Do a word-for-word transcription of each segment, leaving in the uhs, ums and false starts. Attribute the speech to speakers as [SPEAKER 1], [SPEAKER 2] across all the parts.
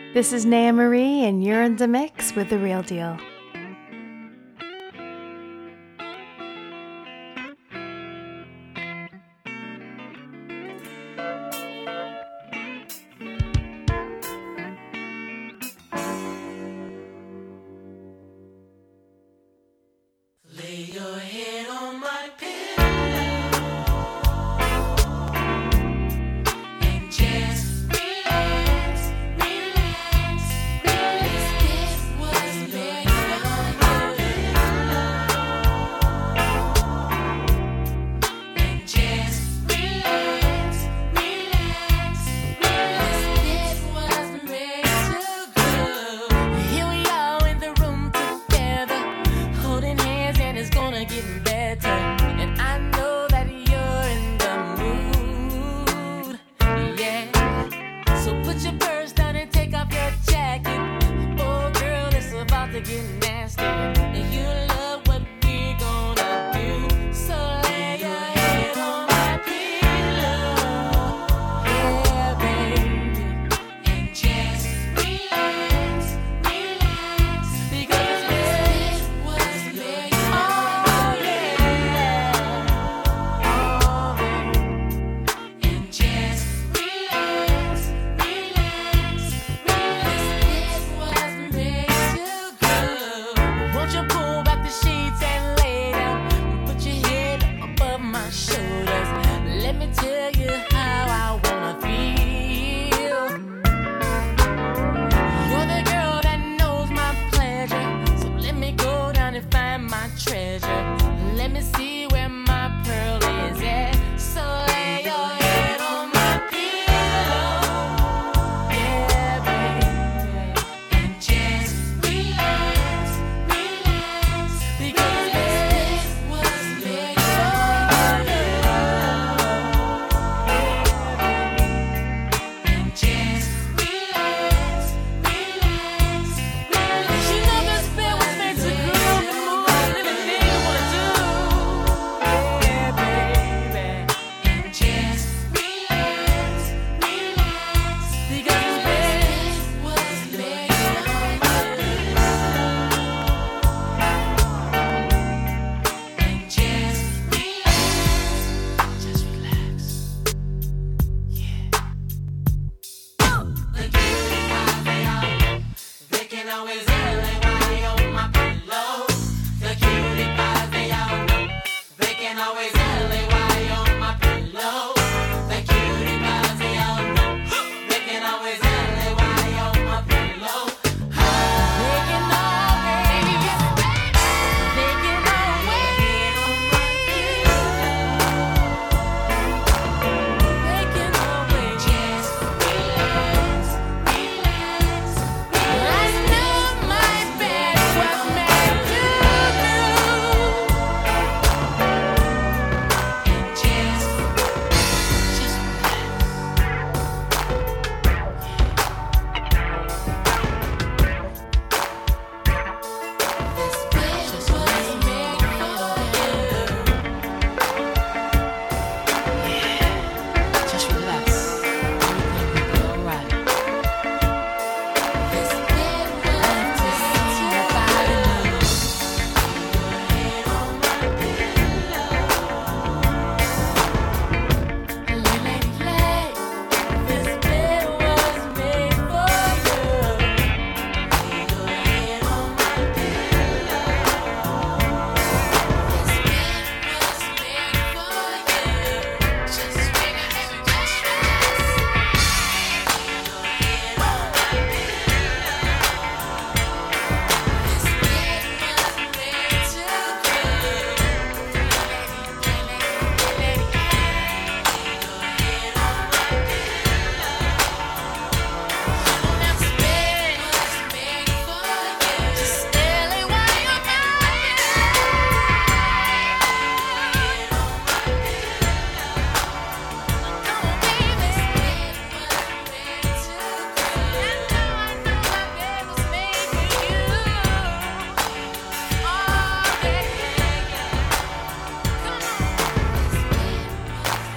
[SPEAKER 1] This is Naya Marie, and you're in the mix with The Real Deal.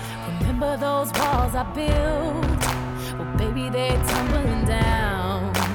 [SPEAKER 2] those walls I built, well, baby, they're tumbling down.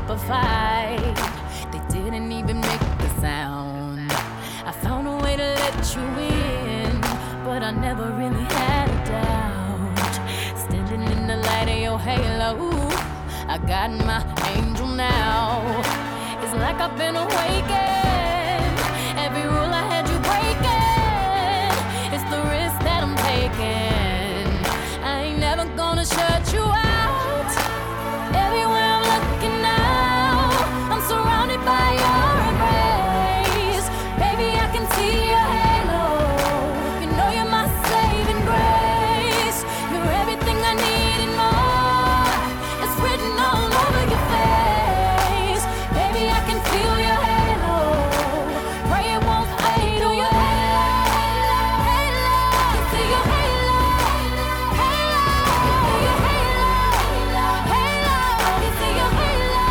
[SPEAKER 2] up a fight. They didn't even make the sound. I found a way to let you in, but I never really had a doubt. Standing in the light of your halo, I got my angel now. It's like I've been awakened. Every rule I had you breaking. It's the risk that I'm taking. I ain't never gonna shut you out. Everywhere I'm looking now, I'm surrounded by your embrace. Baby, I can see your halo. You know you're my saving grace. You're everything I need and more. It's written all over your face. Baby, I can feel your halo. Pray it won't fade. Oh, your halo, halo. I see your halo, halo. Your halo, halo. I see your halo,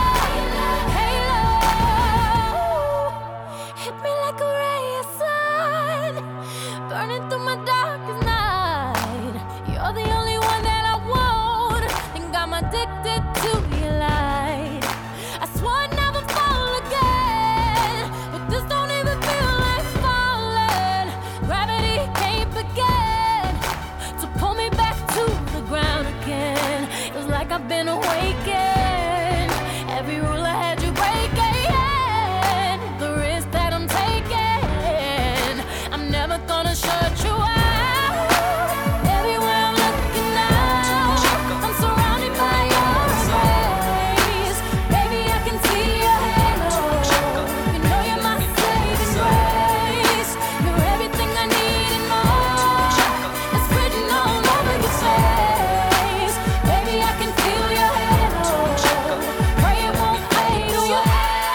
[SPEAKER 2] halo. Hit me like a ray of sun, burning through my darkest night. You're the only one that I want. Think I'm addicted to your light. I swore I'd never fall again, but this don't even feel like falling. Gravity can't begin to pull me back to the ground again. It's like I've been awakened. Every rule I had you breaking. The risk that I'm taking, I'm never gonna shut you out. Everywhere I'm looking now, I'm surrounded by your embrace. Baby, I can see your halo. You know you're my saving grace. You're everything I need and more. It's written all over your face. Baby, I can feel your halo. Pray it won't fade. Oh, your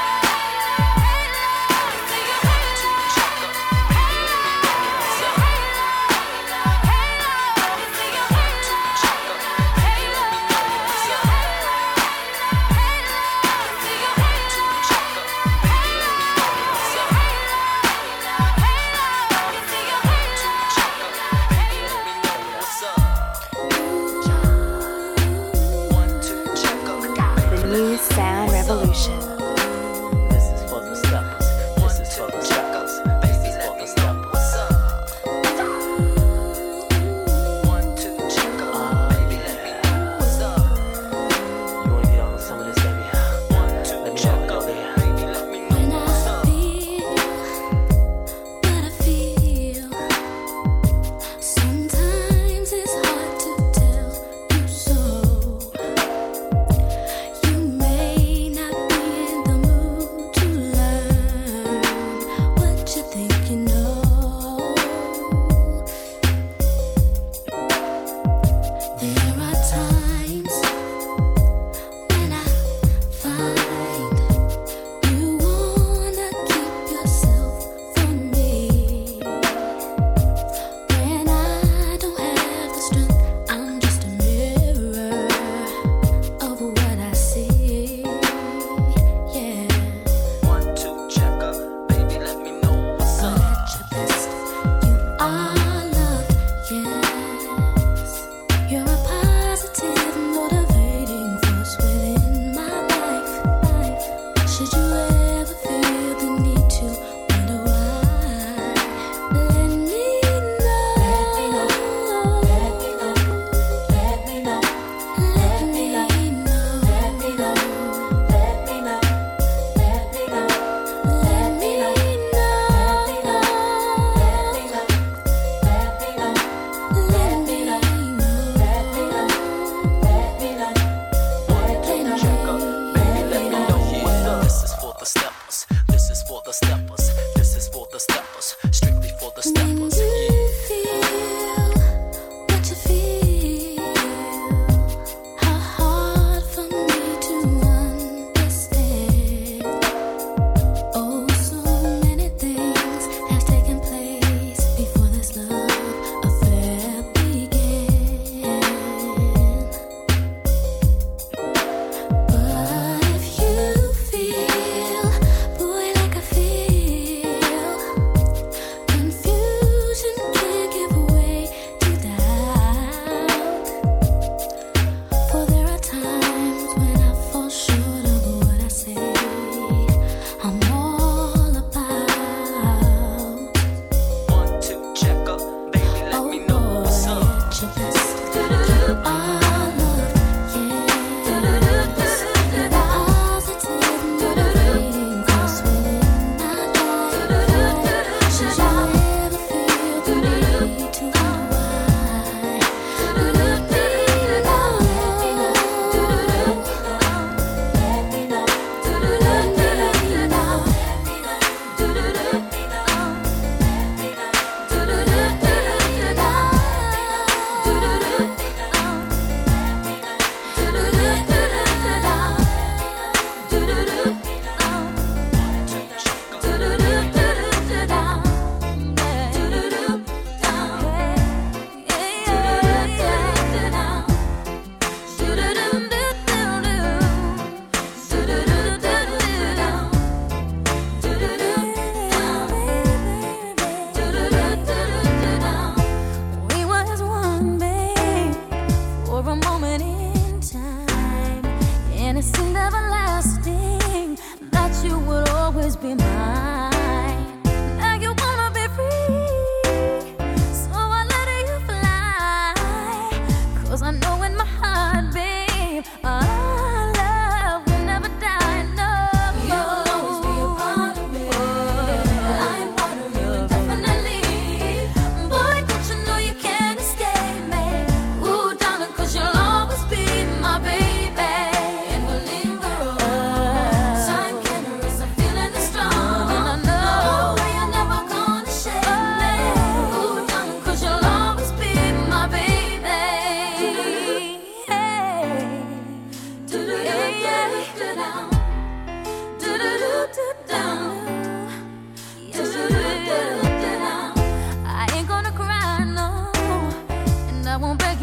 [SPEAKER 1] The new sound revolution.
[SPEAKER 3] This is for the steppers. This is for the steppers. This is for the steppers. One, two, check up. Baby, let me know what's up. You wanna get on some of this, baby? One, two, check up. Baby, let me know
[SPEAKER 2] When
[SPEAKER 3] what's
[SPEAKER 2] I
[SPEAKER 3] up.
[SPEAKER 2] feel what I feel, sometimes it's hard to tell you so. You may not be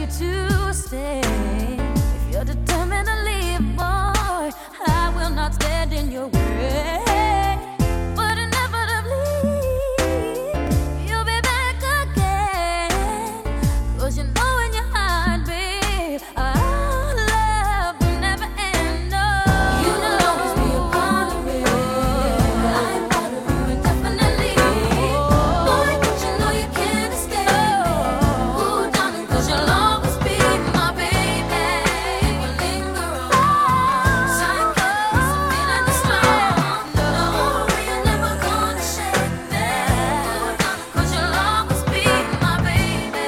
[SPEAKER 2] you to stay. If you're determined to leave, boy, I will not stand in your way. But inevitably, you'll be back again. 'Cause you know in your heart, babe, our love will never end. No, you'll always be a part of me. I'm part of you indefinitely. Boy, don't you know you can't escape. Ooh, darling, 'cause you'll always be my baby. It will linger on. Sign kiss, I'm feeling the strong. No, you're never gonna shake me. Ooh, darling, 'cause you'll always be my baby.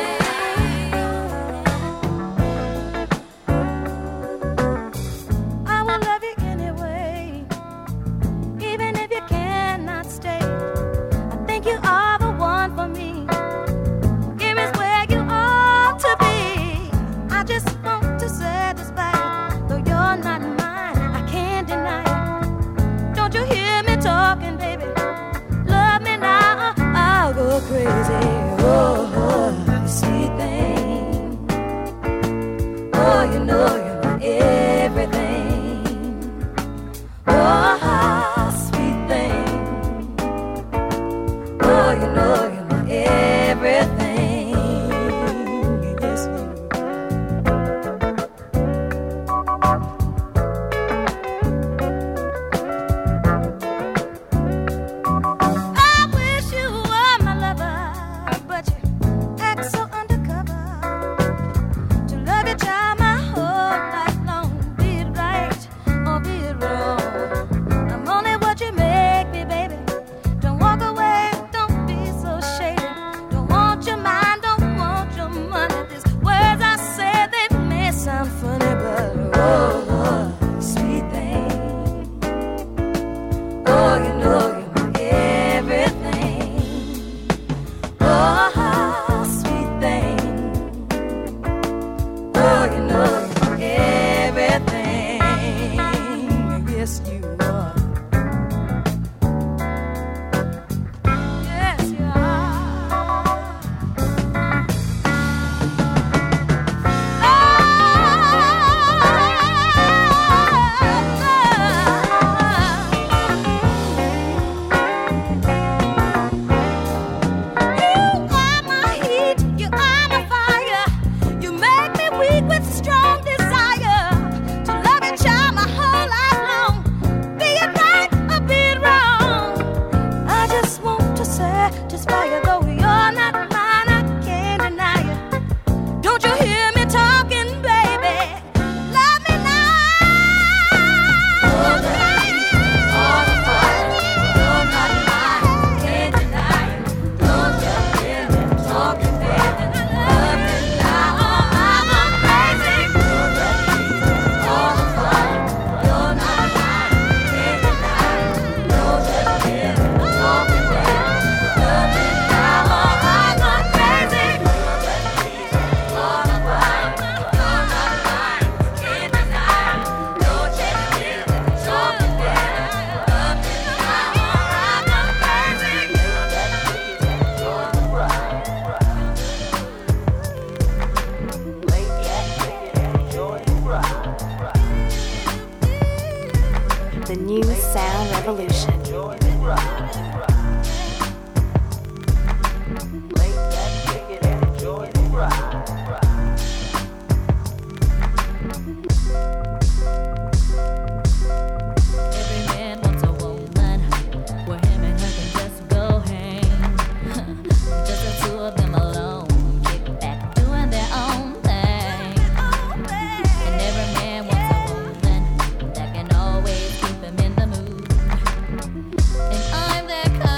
[SPEAKER 2] I will love you anyway, even if you cannot stay. I think you are the one for me. Here is where you ought to be. I just want to satisfy you, though you're not mine. I can't deny it. Don't you hear me talking, baby? Love me now, I'll go crazy. Oh, sweet thing. Oh, you know you're my everything. Oh, sweet thing. Oh, you know you're my everything. Yes, you. I wish you were my lover, but you act so undercover. To love you, child, my whole life long. Be it right or be it wrong. I'm only what you make me, baby. Don't walk away, don't be so shady. Don't want your mind, don't want your money. These words I say, they may sound funny, but oh, sweet thing. Oh, you know you're my everything. Oh, sweet thing. Oh, you know you're my everything. Yes, you are. Yes, you are. You are my heat, you are my fire. You make me weak with strong desire to love you, child, my whole life long. Be it right or be it wrong. I just want to satisfy you, though you're not mine, I can't deny you. Don't you hear me talking, baby? Love me now. All the fire, you're not mine, can't deny you. Don't you hear me talking, baby? Love me now. I'm a crazy. All the fire, you're not mine, can't deny you. Don't you hear me talking, baby? Love me now. I'm a crazy. All the fire, you're not mine, can't deny you. Don't you hear me talking, baby? Love me now. I'm a crazy.
[SPEAKER 1] The new sound revolution.
[SPEAKER 2] Every man wants a woman where him and her can just go hang. Just the two of them alone, kick back, doing their own thing. And every man wants a woman that can always keep him in the mood. And I'm that kind.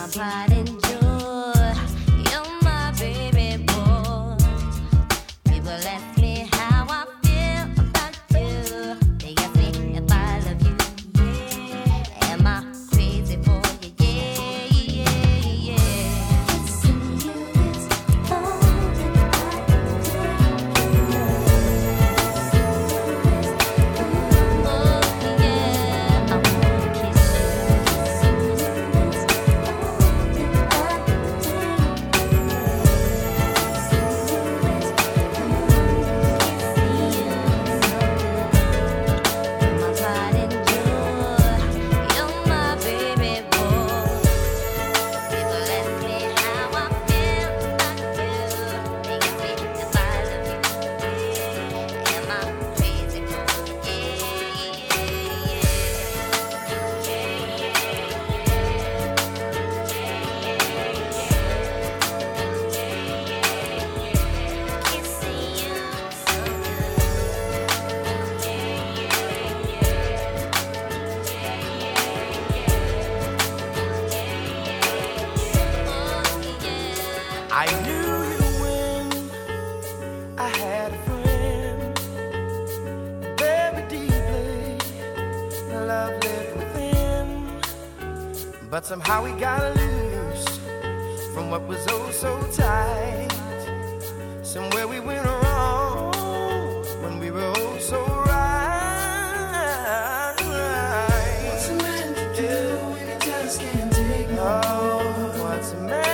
[SPEAKER 2] my pride and joy. You're my baby boy. People ask me how I feel about you. They ask me if I love you. Yeah. Am I crazy for you? Yeah, yeah, yeah. Kissing you is all that I do. Oh yeah, I wanna kiss you. Kissing you is
[SPEAKER 4] I knew you when I had a friend. Very deeply, love lived within. But somehow we got loose from what was oh so tight. Somewhere we went wrong when we were oh so right. What's a man to do when he just can't take no more? Oh, what's a man?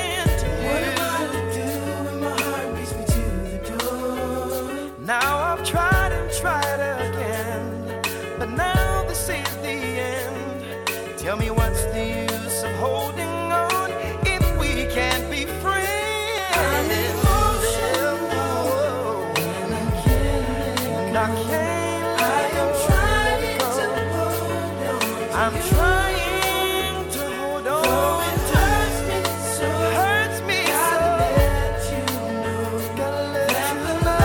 [SPEAKER 4] Now I've tried and tried again, but now this is the end. Tell me what's the use of holding on if we can't be friends? I'm emotional, and I can't, and I can't let I am trying to hold on. I'm trying to hold on. Though it hurts me so, hurts me so. Let you know, gotta let that you know.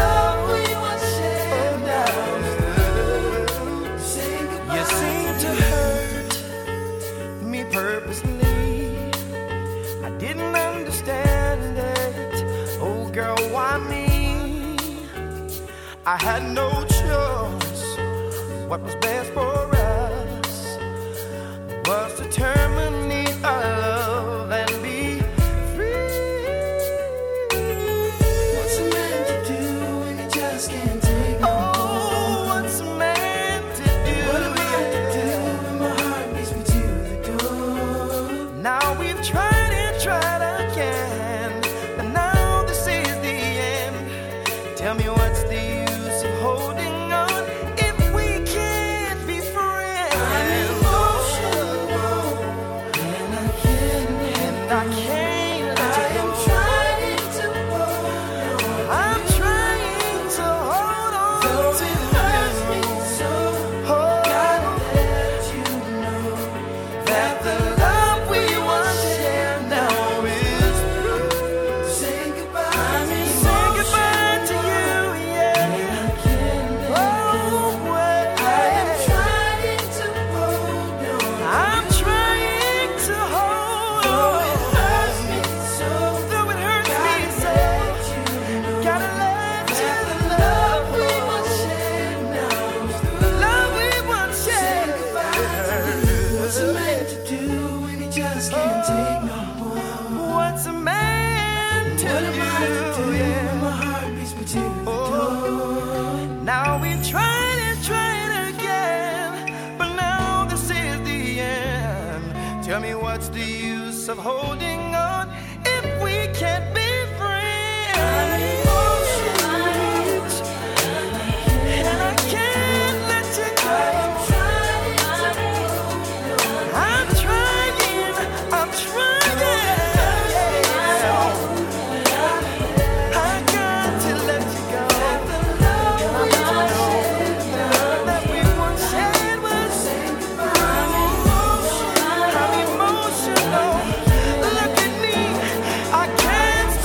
[SPEAKER 4] You seem to hurt me purposely. I didn't understand it. Oh girl, why me? I had no choice. What was best for us was to terminate our love and be free. What's a man to do when he just can't take no more? Oh, what's a man to do? What am I to do when my heart beats me to the door? Now we've tried and tried again, but now this is the end. Tell me what's the use of holding on if we can't be friends? I'm emotional, and I can't, and I can't let I you go. Am trying to hold on. I'm trying to hold on. Though to it hurts me so, oh, gotta let you know that the love we once shared now is through. Say goodbye, I mean, say goodbye to you, yeah. And I can't let go. I am trying to hold on. I'm trying to hold on. Though it hurts me so, though it hurts me so, gotta let you know the love we once shared now is through. The love we once shared. What's a man to do when he just can't take no more? What's a man to what do? Am I to do yeah. when my heart beats me to the door? Now we've tried and tried again, but now this is the end. Tell me what's the use of holding on if we can't be friends? I'm emotional, and I can't let you go. I'm trying, I'm trying. I got to let you go. That we once shared was. I'm emotional. Look at me, I can't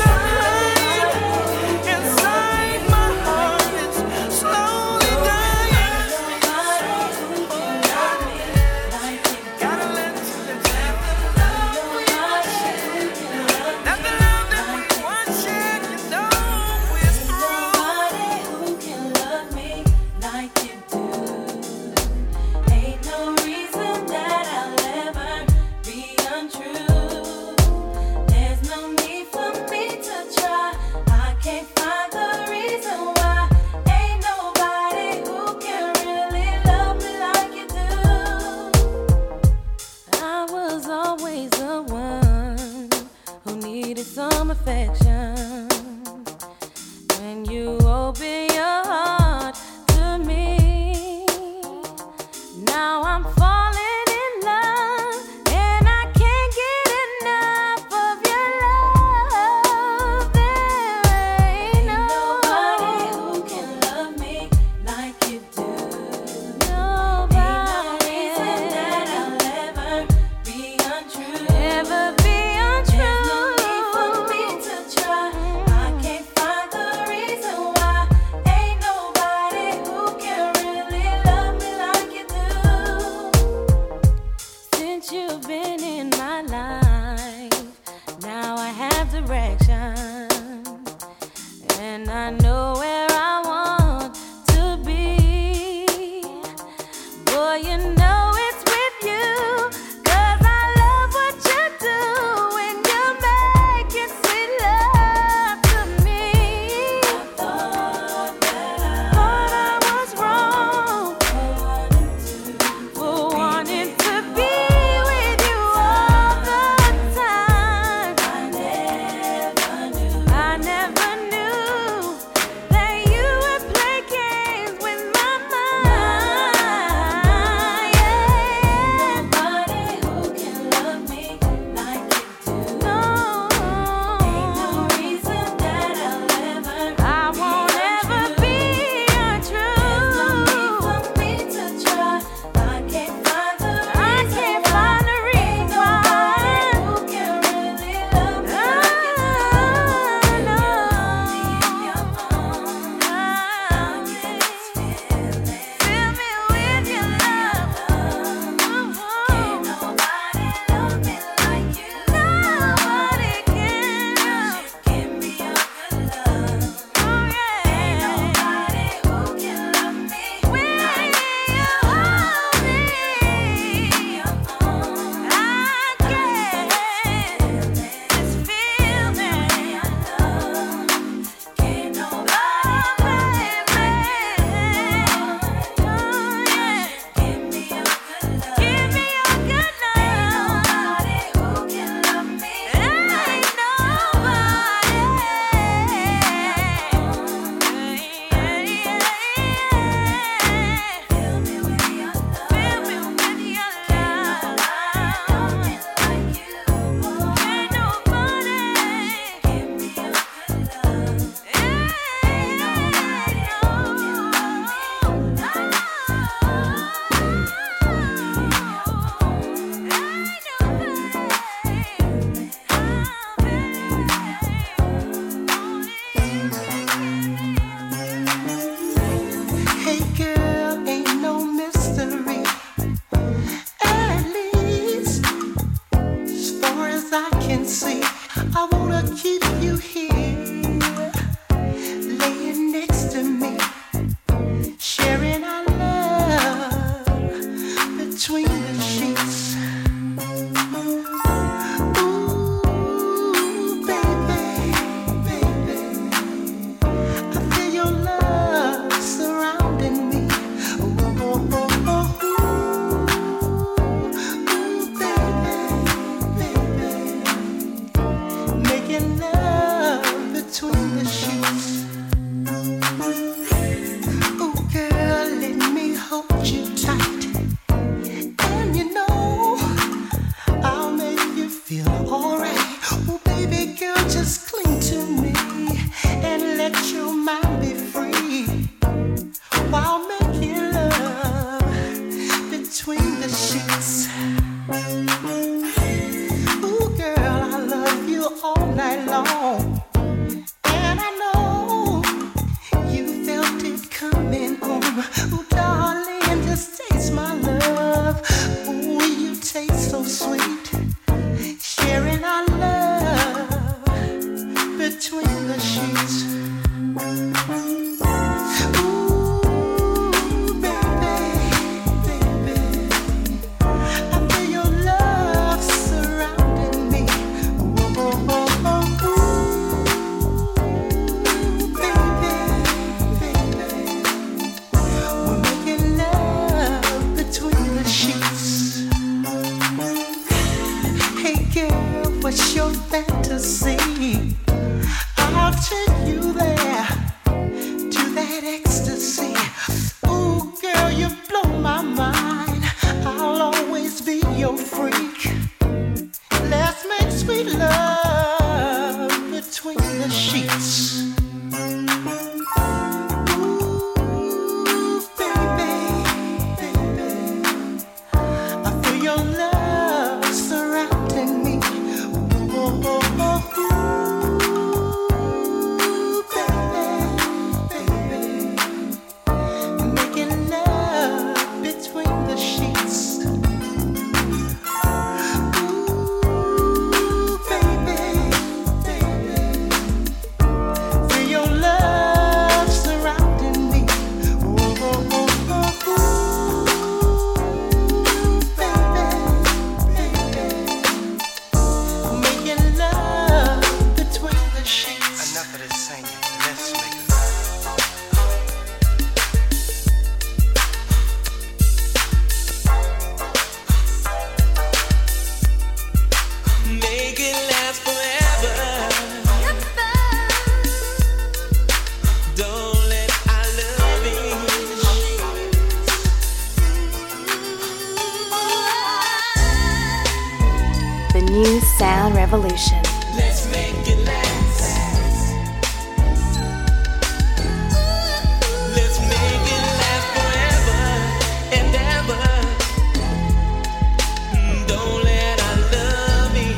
[SPEAKER 2] some affection when you open your heart to me. Now I'm falling in love and I can't get enough of your love. There ain't nobody who can love me like you do. Nobody. Ain't no reason that I'll ever be untrue. Ever be untrue. There's no need for me to try. I can't find the reason why. Ain't nobody who can really love me like you do. Since you've been in my life, now I have direction, and I know where I want to be. Boy, you know it's with you, 'cause I love what you do when you make it sweet love to me. I thought that I, thought I was wrong for wanting to be with you all the time. I never knew, I never knew that you would play games with my mind. Yeah. Nobody who can love me like you do. No. Ain't no reason that I'll ever, I won't ever be untrue. There's no need for me to try. I can't find the reason. I can't find the reason why. Who can really love me like you do? No. In your arms, I'll get this feeling. Fill me with your love. Can't nobody love me like you. Nobody can. Give me your good love. Oh yeah. Ain't nobody who can love me when you hold me in your arms. I get this feeling of love. Can't nobody, baby. Oh yeah. Give me your good love. Give me your good love. Ain't nobody who can love me. Ain't
[SPEAKER 4] Hey girl, ain't no mystery. At least, as far as I can see, I wanna keep you here, laying next to me, sharing our love between the sheets. Ooh, baby, baby, I feel your love surrounding me. Ooh, oh, oh, oh, ooh, baby, baby, making love between the sheets. Ooh, girl, let me hold you tight, and you know I'll make you feel alright. Oh, baby girl, just cling to me and let your mind be free while making love between the sheets. Ooh, girl, I love you all night long, and I know you felt it coming home. Ooh, darling, just taste my love. Ooh, you taste so sweet, sharing our love between the sheets. Ooh, baby, baby, I feel your love surrounding me. Ooh, oh, oh, oh, ooh, baby, baby, we're making love between the sheets. Hey girl, what's your fantasy?
[SPEAKER 1] Sound Revolution.
[SPEAKER 4] Let's make it last. Let's make it last forever and ever. Don't let our love in.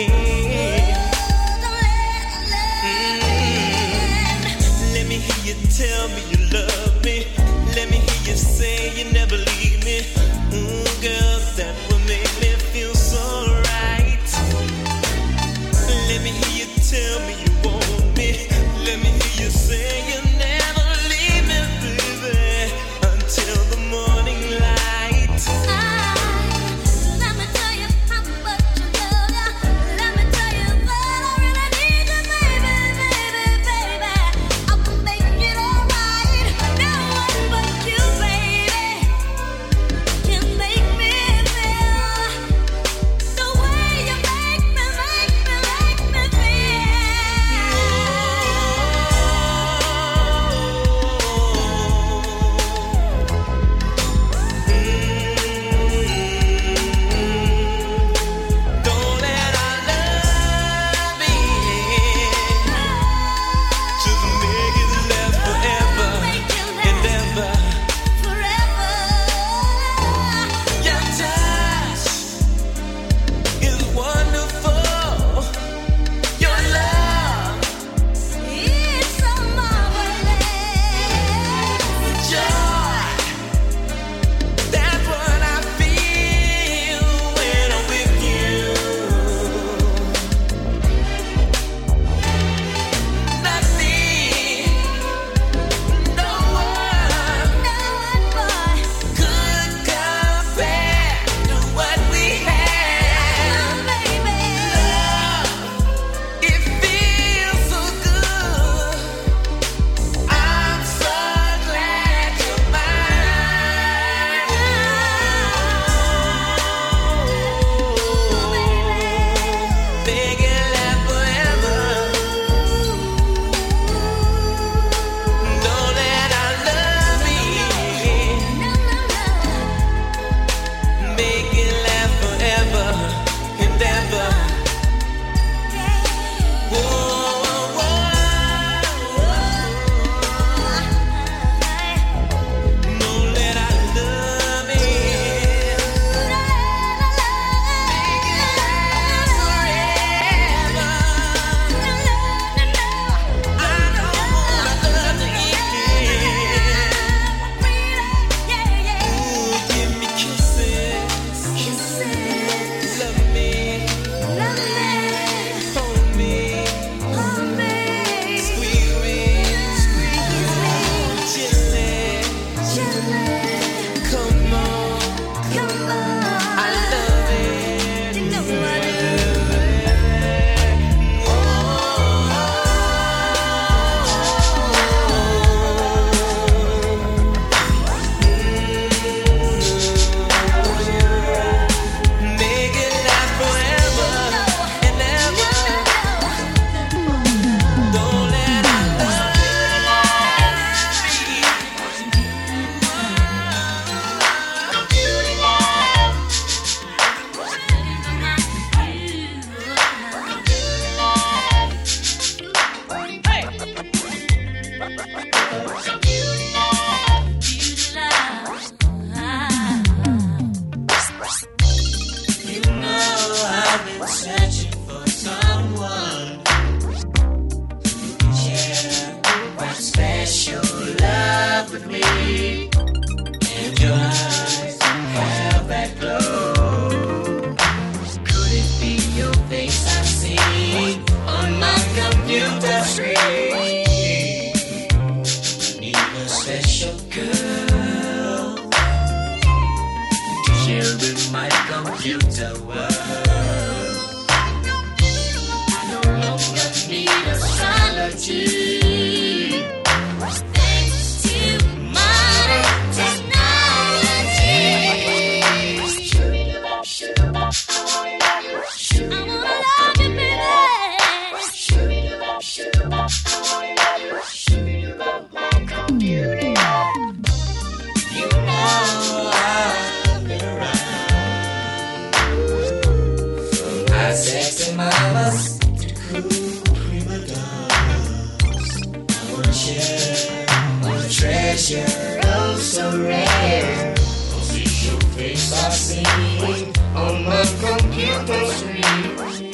[SPEAKER 4] Mm. Let me hear you tell me you love me. Let me hear you say you never leave me. Ooh, girl, that would make me feel so right. Let me hear you tell me you want me. Let me hear you say you never leave me, baby, until the morning light.
[SPEAKER 2] Let me tell you how much I love ya. Let me tell you that I really need you, baby, baby, baby. I will make it alright. No one but you, baby, can make me feel the way you make me, make me, make me
[SPEAKER 4] Don't let our love in. Just make it last forever and ever.
[SPEAKER 2] forever.
[SPEAKER 4] Your touch is wonderful. Your love,
[SPEAKER 2] It's so marvelous.
[SPEAKER 4] joy, that's what I feel when I'm with you. Nothing, no one
[SPEAKER 2] No one but
[SPEAKER 4] could compare to what we have.
[SPEAKER 2] baby.
[SPEAKER 4] It feels so good. I'm so glad you're mine. Make it last forever. Don't let our love in. Make it last forever and ever. Whoa, don't let our love in. Make it last forever. I don't want our love to end. Ooh, give me kisses. Love me. Hold me. Squeeze me. Gently. Come on. I love it. Make it last forever and ever. Don't let our love You know I've been searching for someone who can share that special love with me. And your eyes have that glow. Could it be your face I've seen on my computer screen? Need a special girl to share with my computer world. I no longer need astrology.
[SPEAKER 2] Thanks to modern technology, I wanna love you, baby.
[SPEAKER 4] You know I've been around. I sex in my of us, cool prima donnas. I wanna share a treasure, oh so rare. Official face I see on my computer screen.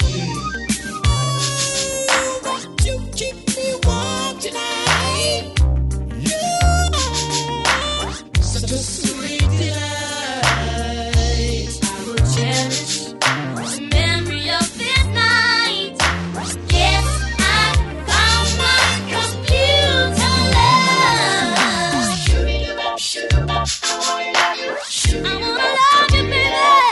[SPEAKER 4] Won't you keep me warm tonight? You are such a sweet delight.
[SPEAKER 2] I will cherish the memory of this night. Yes, I found my computer love. I wanna love you, baby.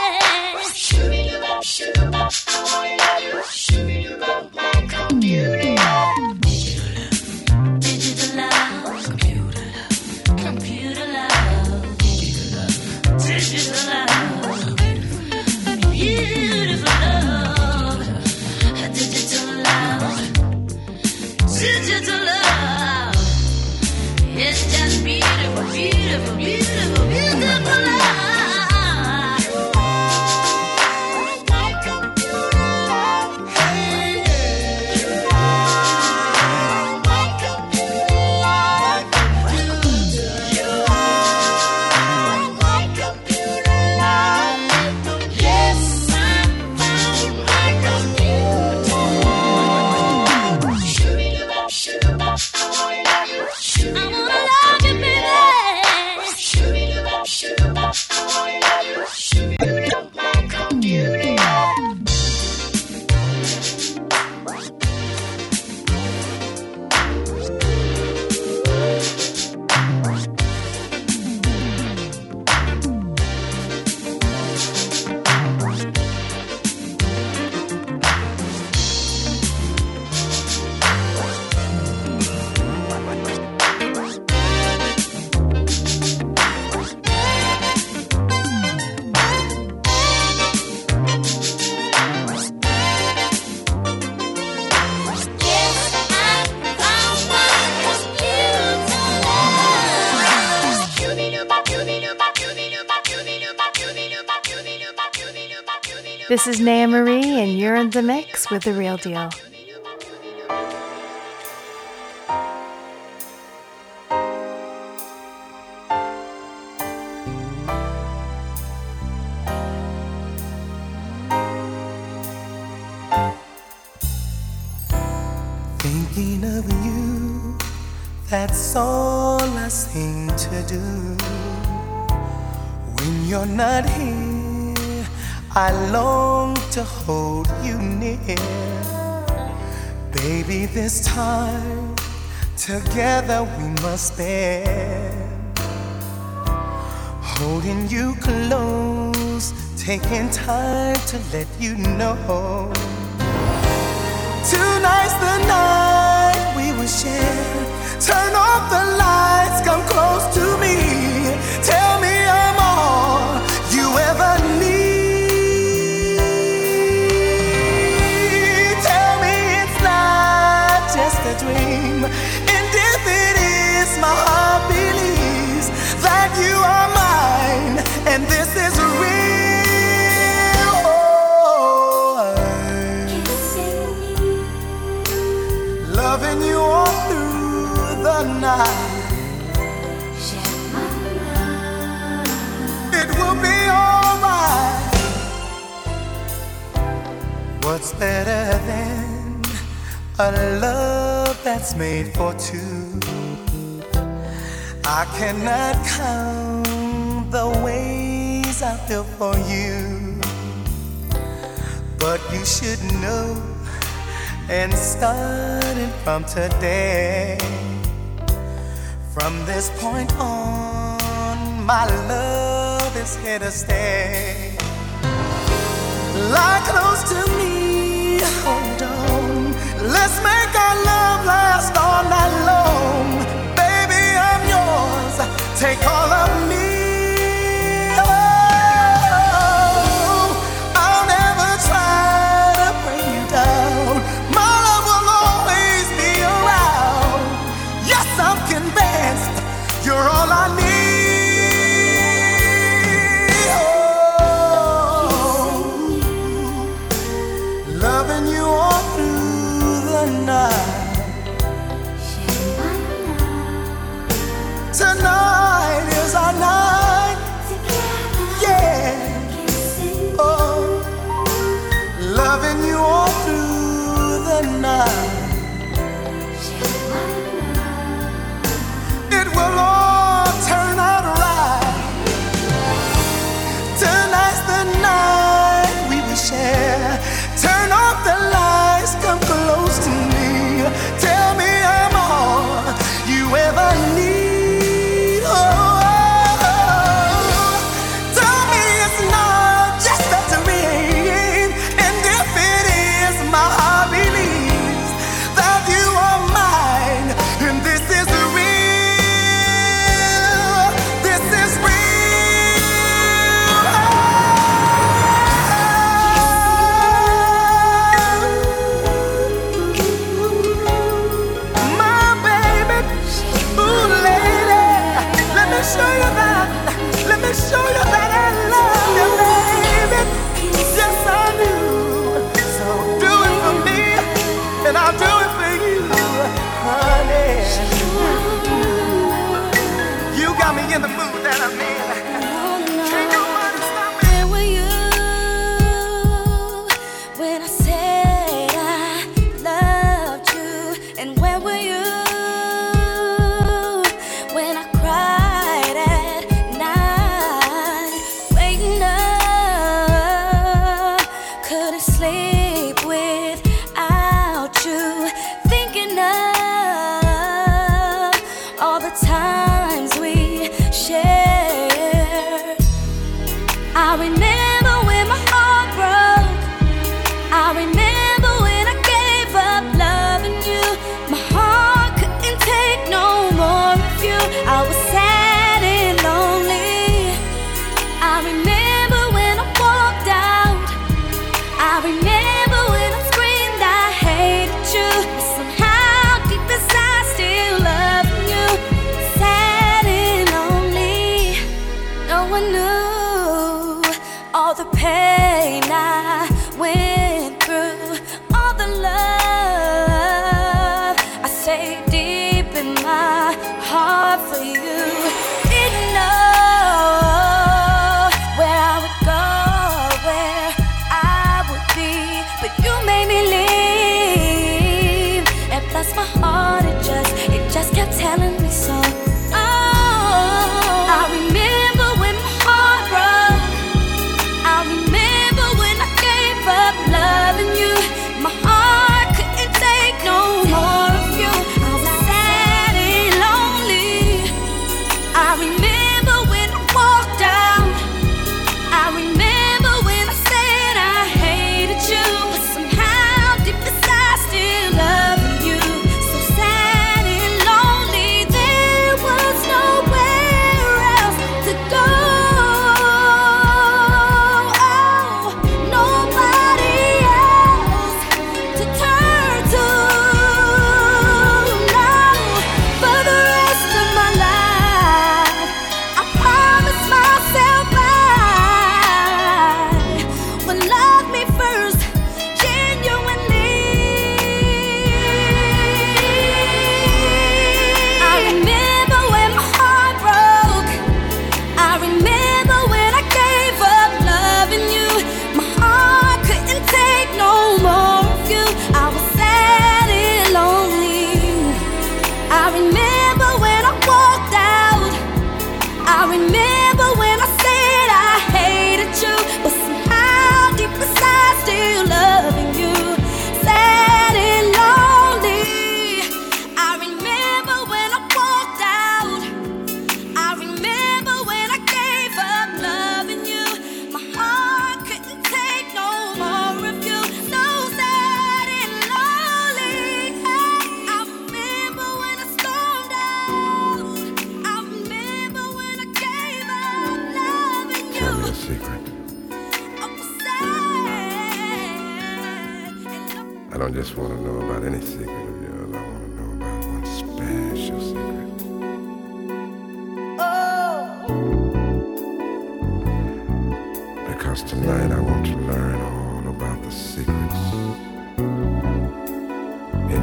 [SPEAKER 2] Digital love, computer love, computer love, digital love, beautiful love, digital love, digital love. It's just beautiful, beautiful, beautiful, beautiful love.
[SPEAKER 1] This is Naya Marie, and you're in the mix with The Real Deal.
[SPEAKER 4] Thinking of you, that's all I seem to do. When you're not here, I long to hold you near. Baby, this time together we must spend. Holding you close, taking time to let you know. Tonight's the night we will share. Turn off the lights, come close to me. Tell me I'm all you ever need. Tell me it's not just a dream. And if it is, my heart believes that you are mine, and this is real. Loving you all through the night. It will be alright. What's better than a love that's made for two? I cannot count the ways I feel for you, but you should know. And starting from today, from this point on, my love is here to stay. Lie close to me, hold on. Let's make our love last all night long. Baby, I'm yours, take all of me. You're all I need. Oh, the night. Tonight is our night. Yeah. Oh, loving you all through the night. It will all turn out right. Tonight's the night we will share. Turn off the lights, come close to me. Tell me I'm all you ever need. Oh, oh, oh. Tell me it's not just a dream. And if it is, my heart believes that you are mine. And this is real. This is real. My baby, ooh lady, let me show you that, let me show you that I love you, baby. Yes I do. So do it for me, and I'll do it for you, honey. You got me in the mood that I'm in. Can't nobody stop me.
[SPEAKER 2] Where were you when I said I loved you? And where were you when I cried at night, waking up, couldn't sleep without you, thinking of all the times we shared. I remember when my heart broke. I remember when I gave up loving you. My heart couldn't take no more of you. I was sad and lonely. I remember when I walked out. I remember when I screamed I hated you. But somehow deep inside still loving you. Sad and lonely. No one knew all the pain I went through, all the love I saved deep in my heart for you. Didn't know where I would go, where I would be, but you made me leave. And plus my heart, it just, it just kept telling me so. Oh, I remember when my heart broke. I remember when I gave up loving you. My heart couldn't take no more of you. I was sad and lonely. I remember when I walked out. I remember when I said I hated you. But somehow deep inside still loving you. So sad and lonely. There was nowhere else to go. Oh, nobody else to turn to. No, for the rest of my life, I promise myself I will love me first, genuinely. I remember when my heart broke. I remember when I gave up loving you. My heart couldn't take no more of you. I was sad and lonely. I remember when I walked out. I remember when I said I hated you. But somehow deep inside still loving you. Sad and lonely. I remember when I walked out. I remember when I gave up loving you. My heart couldn't take no more of you. So sad and lonely. I remember when I stormed out. I remember when I gave up loving you.
[SPEAKER 5] Tell me a secret.
[SPEAKER 2] I was sad and lonely.
[SPEAKER 5] I don't just want to know about any secret of yours. I want to know about one special secret. Because tonight I want to learn all about the secrets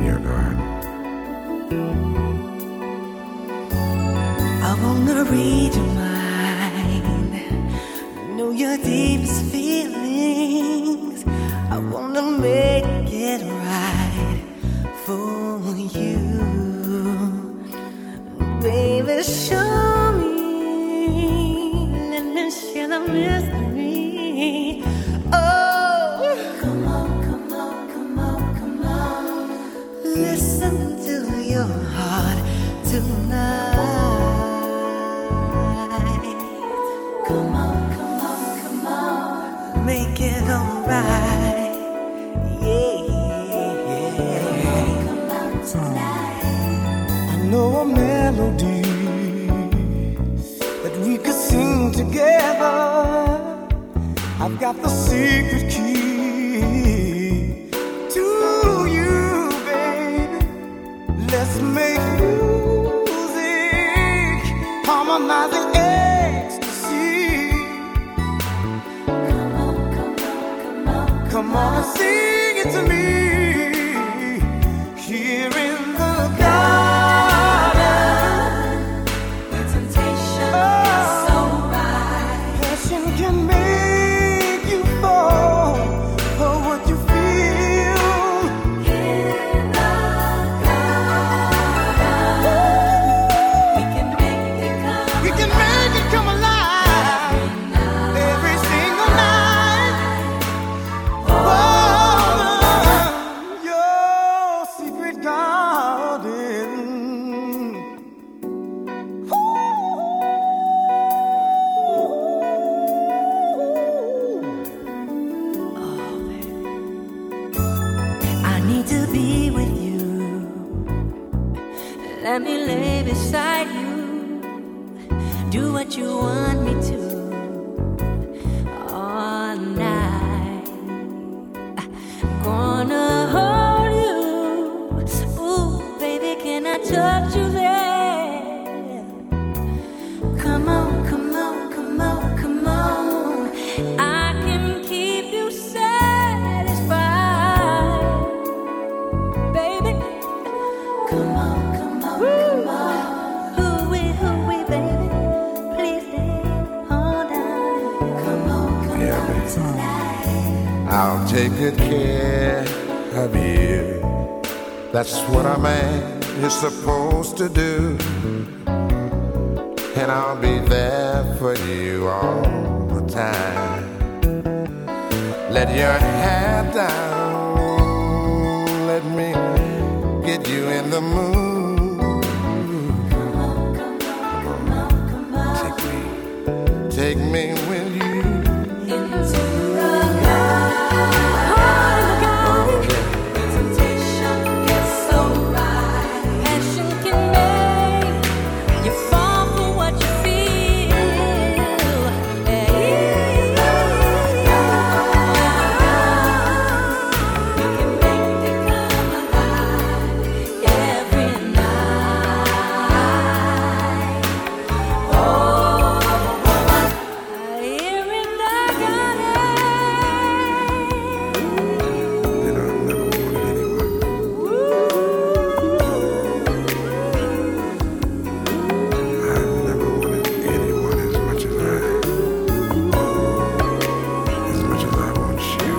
[SPEAKER 4] the deepest feelings. I wanna make it right for you. Baby, show me, let me share the mystery. Oh, come on, come on, come on, come on. Listen to your heart tonight. Come on, come on, come on, make it alright. Yeah, yeah. Come on tonight. I know a melody that we could sing together. I've got the secret key to you, baby. Let's make music, harmonizing ecstasy. Come on, come on, come on, come on and sing it to me. Here in the garden, the temptation is so right. Passion can make you fall for what you feel. In the garden, we can make it come. We can make it come alive every single night. Oh, your secret garden. I need to be with you. Let me lay beside you. Do what you want me to all night. I'm gonna hold you. Ooh, baby, can I touch you there? Come on, come on, come on, come on. I can keep you satisfied, baby. Come on, come on, come on. Hooey, hooey, baby. Please stay all night. Come on, come
[SPEAKER 5] Yeah,
[SPEAKER 4] on
[SPEAKER 5] baby.
[SPEAKER 4] tonight.
[SPEAKER 5] I'll take good care of you. That's what a man is supposed to do. And I'll be there for you all the time. Let your hair down. Let me get you in the mood.
[SPEAKER 4] Come on, come on, come on, come on.
[SPEAKER 5] Take me, take me with you.
[SPEAKER 4] Into the garden. The temptation is so right. Passion can make you fall for what you feel. Hey. We can make it come alive every night. Oh, here in the garden.
[SPEAKER 5] You know, I've never wanted anyone. I've never wanted anyone as much as I, as much as I want you.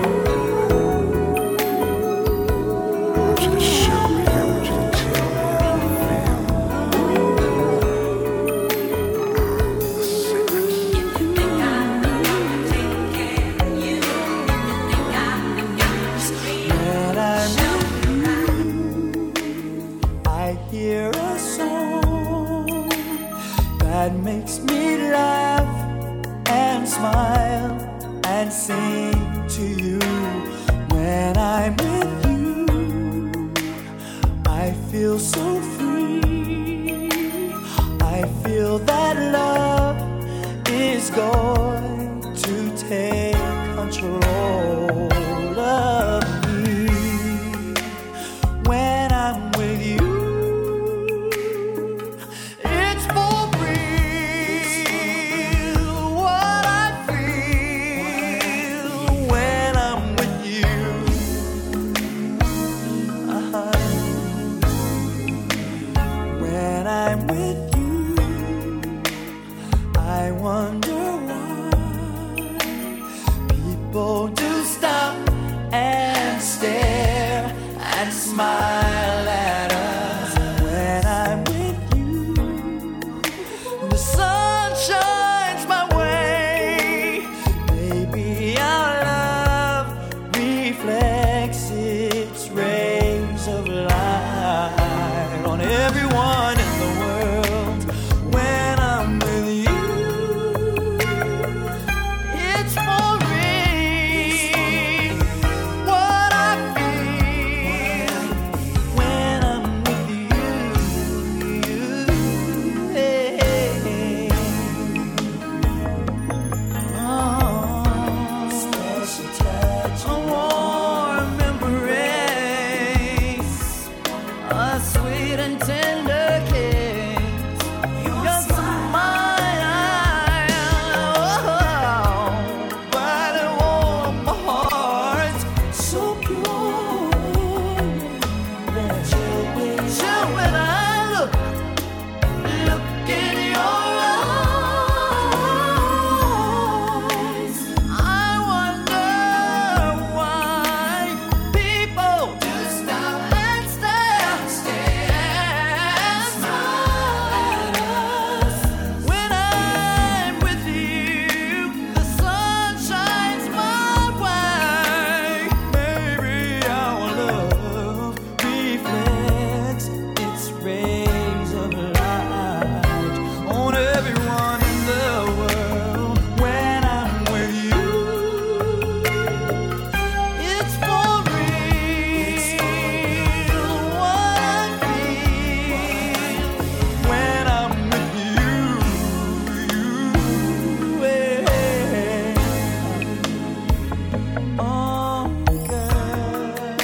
[SPEAKER 5] I want you to show me, I want you to tell me how you feel. The secrets.
[SPEAKER 4] When I'm with you, I hear a song that makes me laugh and smile and sing to you. When I'm with you, I feel so free. I feel that love is going to take control of me. When I'm with you, it's for real what I feel. When I'm with you, uh-huh. and smile at us. When I'm with you, the sun shines my way. Baby, our love reflects its rays of light on everyone in the world. When I'm with you, it's for real. What I feel when I'm with you, hey, hey. Oh, special touch, a warm embrace, a sweet and tender kiss. Your smile, oh, but it warmed my heart, so pure. Chill when I look, look in your eyes. I wonder why people do stop and stare, and smile at us. When I'm with you, the sun shines my way. Baby, our love reflects its rays of light on everyone in the world. When I'm with you, it's for real. What I feel when I'm with you, hey. Oh, girl,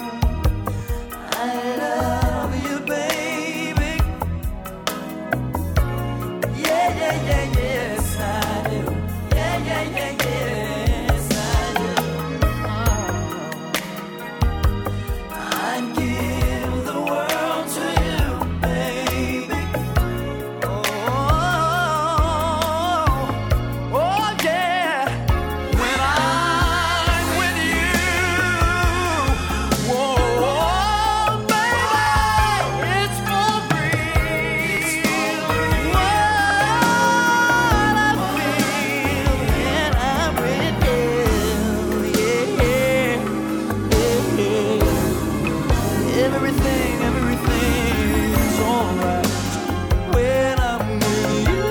[SPEAKER 4] I love you, baby. Yeah, yeah, yeah, yes, I do. Yeah, yeah, yeah, yes, I do. I'd give the world to you, baby. Oh, oh, yeah. When I'm with you, whoa, baby, it's for real. What I feel when I'm with you, yeah, yeah. Everything, everything's alright when I'm with you.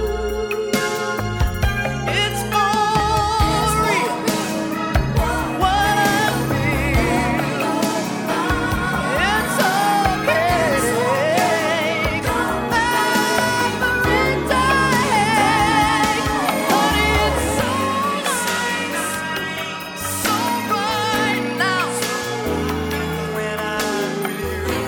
[SPEAKER 4] It's for real. What I feel, it's okay. Every day, honey, it's so nice, so right now. When I'm with you.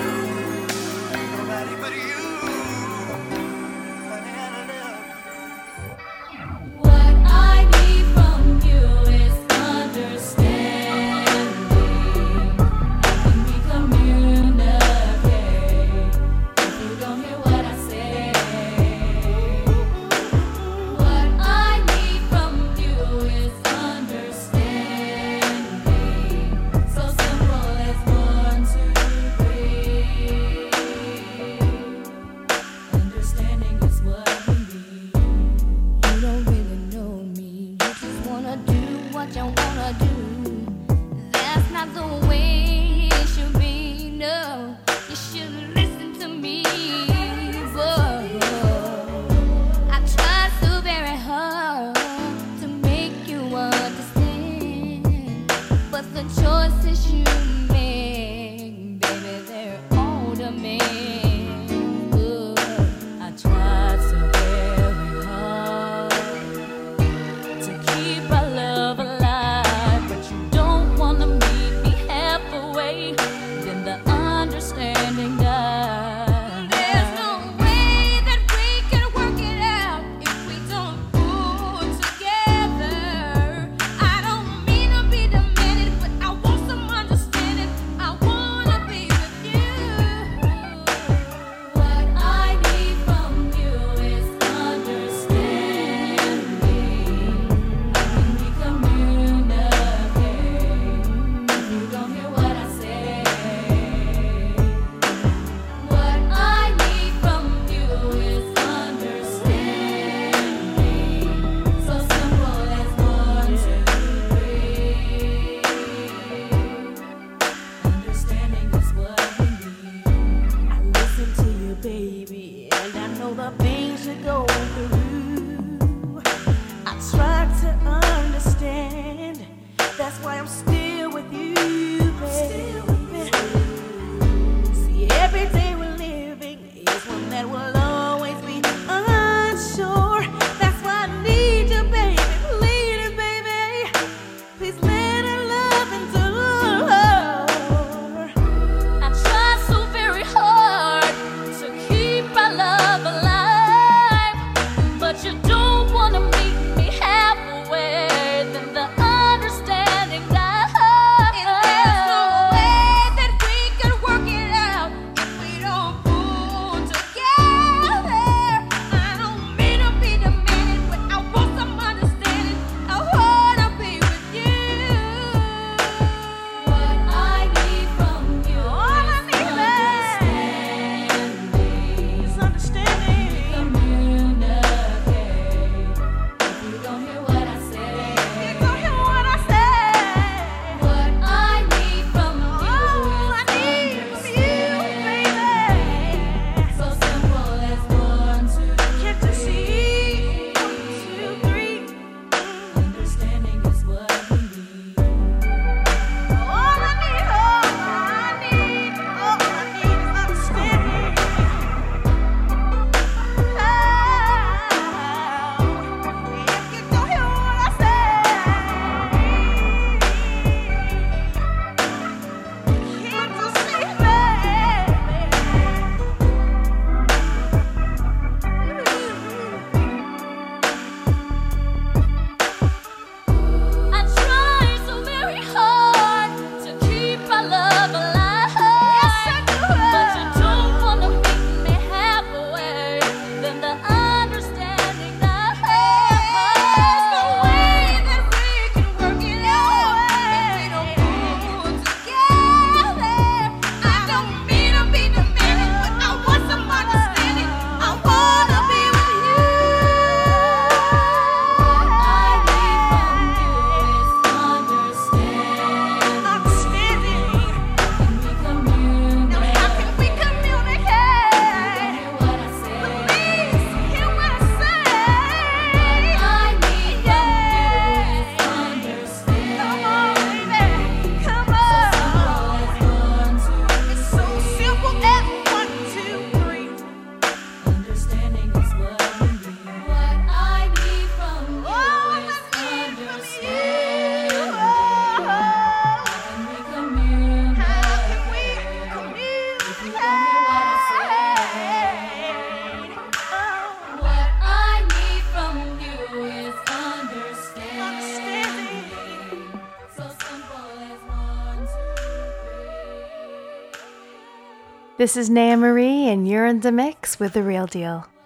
[SPEAKER 1] This is Naya Marie, and you're in the mix with The Real Deal.